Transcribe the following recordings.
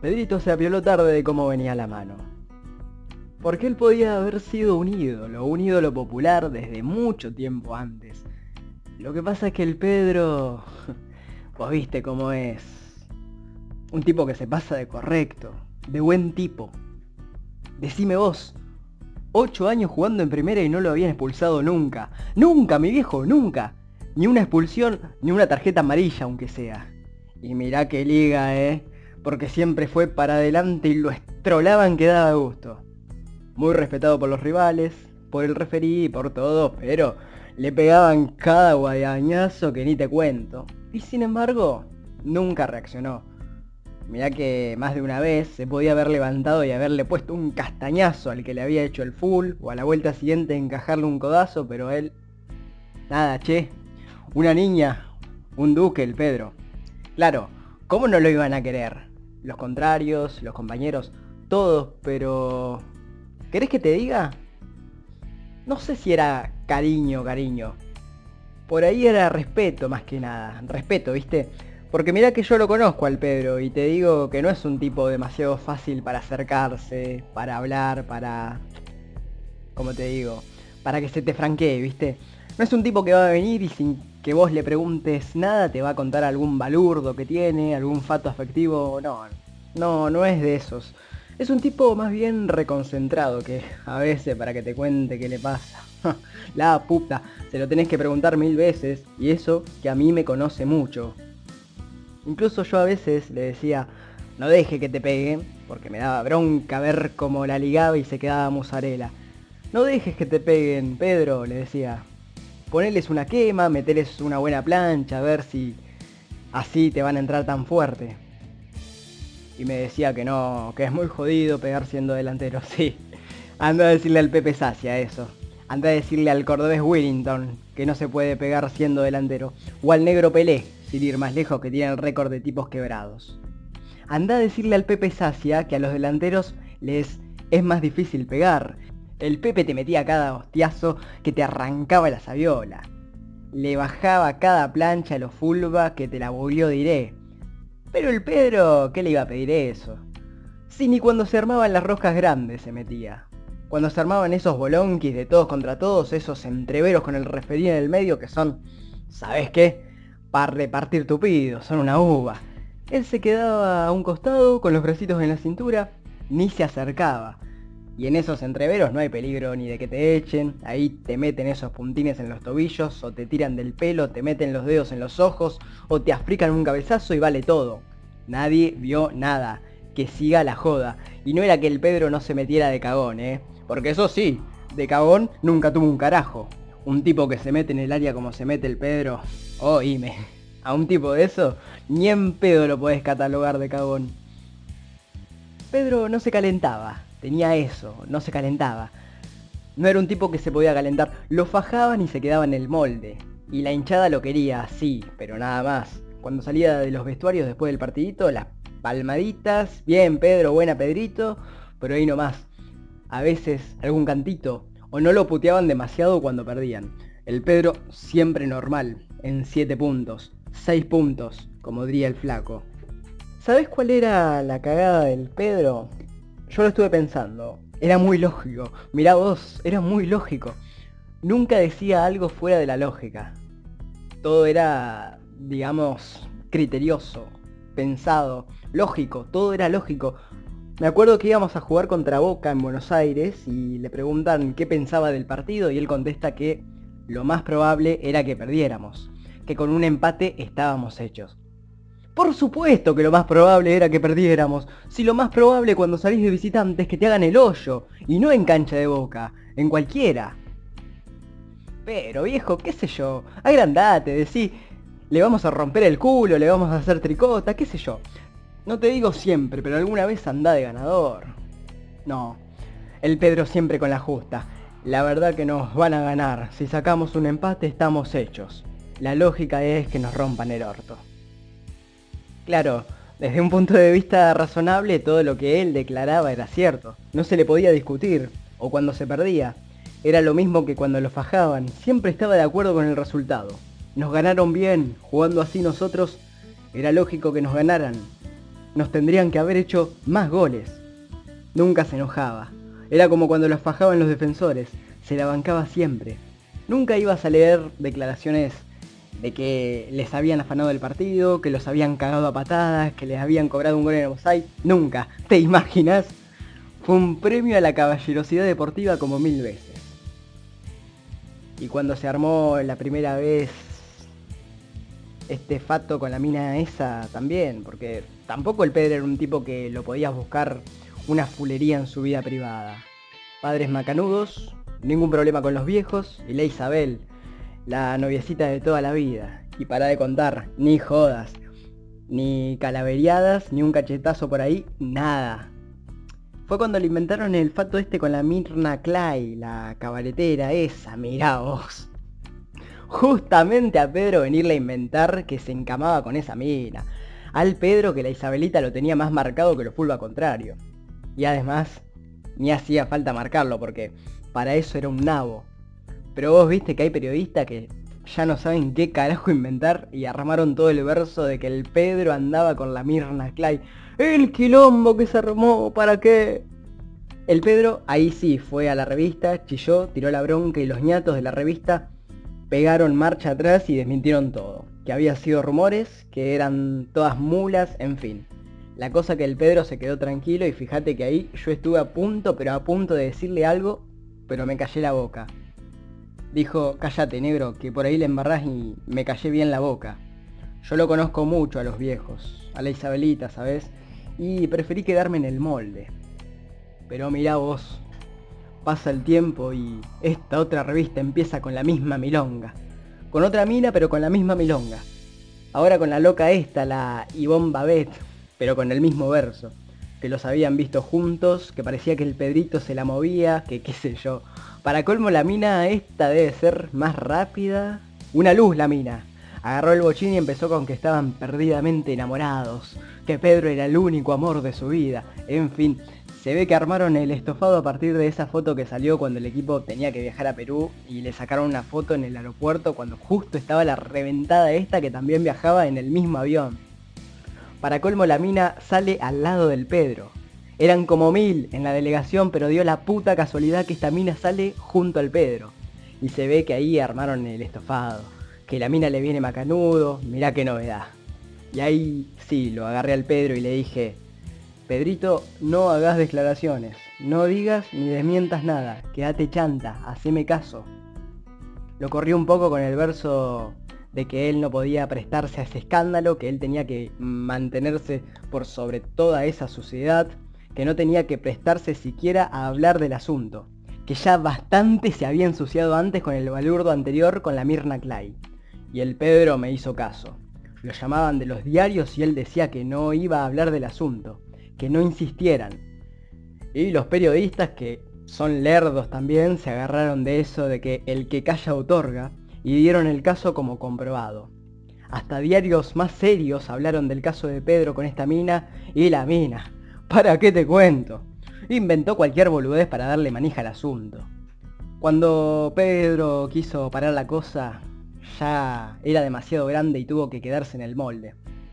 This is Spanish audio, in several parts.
Pedrito se apioló tarde de cómo venía la mano. Porque él podía haber sido un ídolo popular desde mucho tiempo antes. Lo que pasa es que el Pedro... Vos viste cómo es. Un tipo que se pasa de correcto, de buen tipo. Decime vos, 8 años jugando en primera y no lo habían expulsado nunca. Nunca, mi viejo, nunca. Ni una expulsión, ni una tarjeta amarilla, aunque sea. Y mirá qué liga, porque siempre fue para adelante y lo estrolaban que daba gusto. Muy respetado por los rivales, por el referí y por todo, pero le pegaban cada guadañazo que ni te cuento. Y sin embargo, nunca reaccionó. Mirá que más de una vez se podía haber levantado y haberle puesto un castañazo al que le había hecho el full, o a la vuelta siguiente encajarle un codazo, pero él... Nada, che. Una niña, un duque el Pedro. Claro, ¿cómo no lo iban a querer? Los contrarios, los compañeros, todos, pero... ¿Querés que te diga? No sé si era cariño. Por ahí era respeto más que nada. Respeto, ¿viste? Porque mirá que yo lo conozco al Pedro y te digo que no es un tipo demasiado fácil para acercarse, para hablar, para... ¿Cómo te digo? Para que se te franquee, ¿viste? No es un tipo que va a venir y sin que vos le preguntes nada te va a contar algún balurdo que tiene, algún fato afectivo. No es de esos. Es un tipo más bien reconcentrado que a veces para que te cuente qué le pasa. La puta, se lo tenés que preguntar 1000 veces y eso que a mí me conoce mucho. Incluso yo a veces le decía, no deje que te peguen, porque me daba bronca ver cómo la ligaba y se quedaba musarela. No dejes que te peguen, Pedro, le decía. Poneles una quema, meteles una buena plancha, a ver si así te van a entrar tan fuerte. Y me decía que no, que es muy jodido pegar siendo delantero, sí. Anda a decirle al Pepe Sacia eso. Anda a decirle al cordobés Willington que no se puede pegar siendo delantero. O al negro Pelé, sin ir más lejos, que tiene el récord de tipos quebrados. Anda a decirle al Pepe Sacia que a los delanteros les es más difícil pegar. El Pepe te metía cada hostiazo que te arrancaba la sabiola. Le bajaba cada plancha a los fulba que te la bugueó diré. Pero el Pedro, ¿qué le iba a pedir eso? Si ni cuando se armaban las roscas grandes se metía. Cuando se armaban esos bolonquis de todos contra todos, esos entreveros con el referí en el medio que son, ¿sabes qué? Para repartir tupido, son una uva. Él se quedaba a un costado con los bracitos en la cintura, ni se acercaba. Y en esos entreveros no hay peligro ni de que te echen, ahí te meten esos puntines en los tobillos, o te tiran del pelo, te meten los dedos en los ojos, o te african un cabezazo y vale todo. Nadie vio nada, que siga la joda. Y no era que el Pedro no se metiera de cagón, porque eso sí, de cagón nunca tuvo un carajo. Un tipo que se mete en el área como se mete el Pedro, oíme, a un tipo de eso, ni en pedo lo podés catalogar de cagón. Pedro no se calentaba, tenía eso, no se calentaba. No era un tipo que se podía calentar, lo fajaban y se quedaba en el molde. Y la hinchada lo quería, sí, pero nada más. Cuando salía de los vestuarios después del partidito, las palmaditas, bien Pedro, buena Pedrito, pero ahí nomás. A veces algún cantito, o no lo puteaban demasiado cuando perdían. El Pedro siempre normal, en 7 puntos, 6 puntos, como diría el flaco. ¿Sabés cuál era la cagada del Pedro? Yo lo estuve pensando. Era muy lógico. Mirá vos, era muy lógico. Nunca decía algo fuera de la lógica. Todo era, digamos, criterioso, pensado, lógico. Todo era lógico. Me acuerdo que íbamos a jugar contra Boca en Buenos Aires y le preguntan qué pensaba del partido y él contesta que lo más probable era que perdiéramos. Que con un empate estábamos hechos. Por supuesto que lo más probable era que perdiéramos. Si lo más probable cuando salís de visitante es que te hagan el hoyo. Y no en cancha de Boca, en cualquiera. Pero viejo, qué sé yo. Agrandate, decí, le vamos a romper el culo, le vamos a hacer tricota, qué sé yo. No te digo siempre, pero alguna vez andá de ganador. No, el Pedro siempre con la justa. La verdad que nos van a ganar. Si sacamos un empate estamos hechos. La lógica es que nos rompan el orto. Claro, desde un punto de vista razonable todo lo que él declaraba era cierto, no se le podía discutir, o cuando se perdía. Era lo mismo que cuando lo fajaban, siempre estaba de acuerdo con el resultado. Nos ganaron bien, jugando así nosotros, era lógico que nos ganaran. nos tendrían que haber hecho más goles. Nunca se enojaba. Era como cuando los fajaban los defensores, se la bancaba siempre. Nunca ibas a leer declaraciones de que les habían afanado el partido, que los habían cagado a patadas, que les habían cobrado un gol en offside. Nunca. ¿Te imaginas? Fue un premio a la caballerosidad deportiva como 1000 veces. Y cuando se armó la primera vez este fato con la mina esa también, porque tampoco el Pedro era un tipo que lo podías buscar una fulería en su vida privada. Padres macanudos, ningún problema con los viejos, y la Isabel, la noviecita de toda la vida. Y para de contar, ni jodas, ni calaveriadas, ni un cachetazo por ahí, nada. Fue cuando le inventaron el fato este con la Mirna Clay, la cabaretera esa, mirá vos. Justamente a Pedro venirle a inventar que se encamaba con esa mina. Al Pedro que la Isabelita lo tenía más marcado que lo fulva contrario. Y además, ni hacía falta marcarlo porque para eso era un nabo. Pero vos viste que hay periodistas que ya no saben qué carajo inventar y armaron todo el verso de que el Pedro andaba con la Mirna Clay. El quilombo que se armó, ¿para qué? El Pedro ahí sí fue a la revista, chilló, tiró la bronca y los ñatos de la revista pegaron marcha atrás y desmintieron todo. Que había sido rumores, que eran todas mulas, en fin. La cosa que el Pedro se quedó tranquilo y fíjate que ahí yo estuve a punto, pero a punto de decirle algo, pero me callé la boca. Dijo, cállate negro, que por ahí le embarrás y me callé bien la boca. Yo lo conozco mucho a los viejos, a la Isabelita, ¿sabes? Y preferí quedarme en el molde. Pero mirá vos, pasa el tiempo y esta otra revista empieza con la misma milonga. Con otra mina, pero con la misma milonga. Ahora con la loca esta, la Ivonne Babet, pero con el mismo verso. Que los habían visto juntos, que parecía que el Pedrito se la movía, que qué sé yo. Para colmo la mina esta debe ser más rápida. Una luz la mina. Agarró el bochín y empezó con que estaban perdidamente enamorados. Que Pedro era el único amor de su vida. En fin, se ve que armaron el estofado a partir de esa foto que salió cuando el equipo tenía que viajar a Perú. Y le sacaron una foto en el aeropuerto cuando justo estaba la reventada esta que también viajaba en el mismo avión. Para colmo la mina sale al lado del Pedro. Eran como 1000 en la delegación, pero dio la puta casualidad que esta mina sale junto al Pedro. Y se ve que ahí armaron el estofado. Que la mina le viene macanudo, mirá qué novedad. Y ahí sí, lo agarré al Pedro y le dije, Pedrito, no hagas declaraciones, no digas ni desmientas nada, quédate chanta, haceme caso. Lo corrió un poco con el verso de que él no podía prestarse a ese escándalo, que él tenía que mantenerse por sobre toda esa suciedad, que no tenía que prestarse siquiera a hablar del asunto, que ya bastante se había ensuciado antes con el balurdo anterior con la Mirna Clay. Y el Pedro me hizo caso. Lo llamaban de los diarios y él decía que no iba a hablar del asunto, que no insistieran. Y los periodistas, que son lerdos también, se agarraron de eso de que el que calla otorga, y dieron el caso como comprobado. Hasta diarios más serios hablaron del caso de Pedro con esta mina, y la mina, ¿para qué te cuento? Inventó cualquier boludez para darle manija al asunto. Cuando Pedro quiso parar la cosa, ya era demasiado grande y tuvo que quedarse en el molde.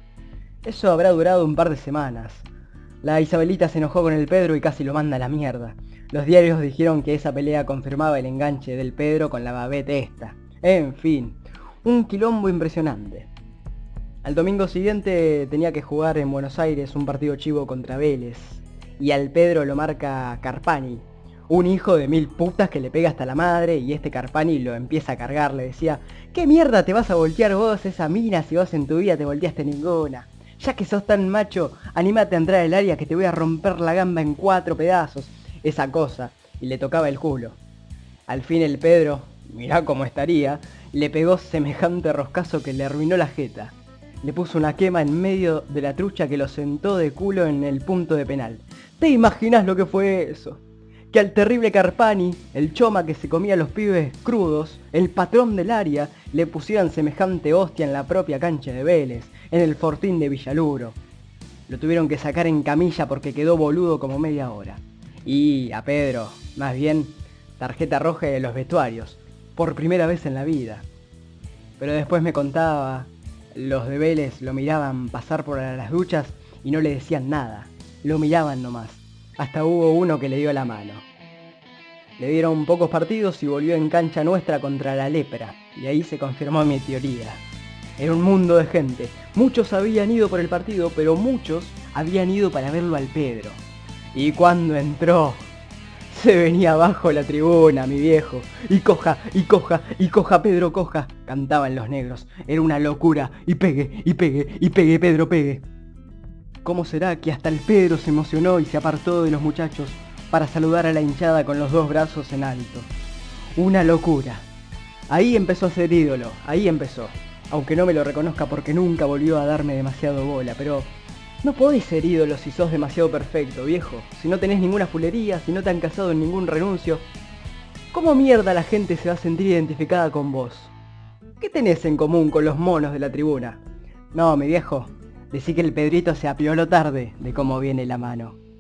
Eso habrá durado un par de semanas. La Isabelita se enojó con el Pedro y casi lo manda a la mierda. Los diarios dijeron que esa pelea confirmaba el enganche del Pedro con la Babette esta. En fin, un quilombo impresionante. Al domingo siguiente tenía que jugar en Buenos Aires un partido chivo contra Vélez. Y al Pedro lo marca Carpani, un hijo de 1000 putas que le pega hasta la madre, y este Carpani lo empieza a cargar, le decía, ¿qué mierda te vas a voltear vos esa mina si vos en tu vida te volteaste ninguna? Ya que sos tan macho, anímate a entrar al área que te voy a romper la gamba en 4 pedazos. Esa cosa, y le tocaba el culo. Al fin el Pedro, mirá cómo estaría, le pegó semejante roscazo que le arruinó la jeta. Le puso una quema en medio de la trucha que lo sentó de culo en el punto de penal. ¿Te imaginas lo que fue eso? Que al terrible Carpani, el choma que se comía a los pibes crudos, el patrón del área, le pusieran semejante hostia en la propia cancha de Vélez, en el Fortín de Villaluro. Lo tuvieron que sacar en camilla porque quedó boludo como media hora. Y a Pedro, más bien, tarjeta roja de los vestuarios, por primera vez en la vida. Pero después me contaba, los de Vélez lo miraban pasar por las duchas y no le decían nada, lo miraban nomás. Hasta hubo uno que le dio la mano. Le dieron pocos partidos y volvió en cancha nuestra contra la Lepra, y ahí se confirmó mi teoría. Era un mundo de gente. Muchos habían ido por el partido, pero muchos habían ido para verlo al Pedro. Y cuando entró, se venía abajo la tribuna, mi viejo. Y coja, y coja, y coja, Pedro, coja. Cantaban los negros. Era una locura. Y pegue, y pegue, y pegue, Pedro, pegue. ¿Cómo será que hasta el Pedro se emocionó y se apartó de los muchachos para saludar a la hinchada con los dos brazos en alto? Una locura. Ahí empezó a ser ídolo, ahí empezó. Aunque no me lo reconozca porque nunca volvió a darme demasiado bola, pero no podés ser ídolo si sos demasiado perfecto, viejo. Si no tenés ninguna fulería, si no te han casado en ningún renuncio. ¿Cómo mierda la gente se va a sentir identificada con vos? ¿Qué tenés en común con los monos de la tribuna? No, mi viejo, decí que el Pedrito se apioló tarde de cómo viene la mano.